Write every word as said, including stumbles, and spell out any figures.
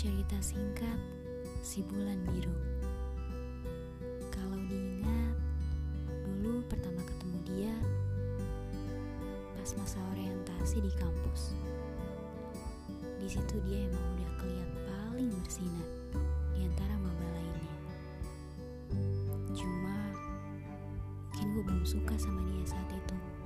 Cerita singkat si bulan biru. Kalau diingat, dulu pertama ketemu dia pas masa orientasi di kampus. Di situ dia emang udah kelihatan paling bersinar di antara maba lainnya. Cuma mungkin gue belum suka sama dia saat itu.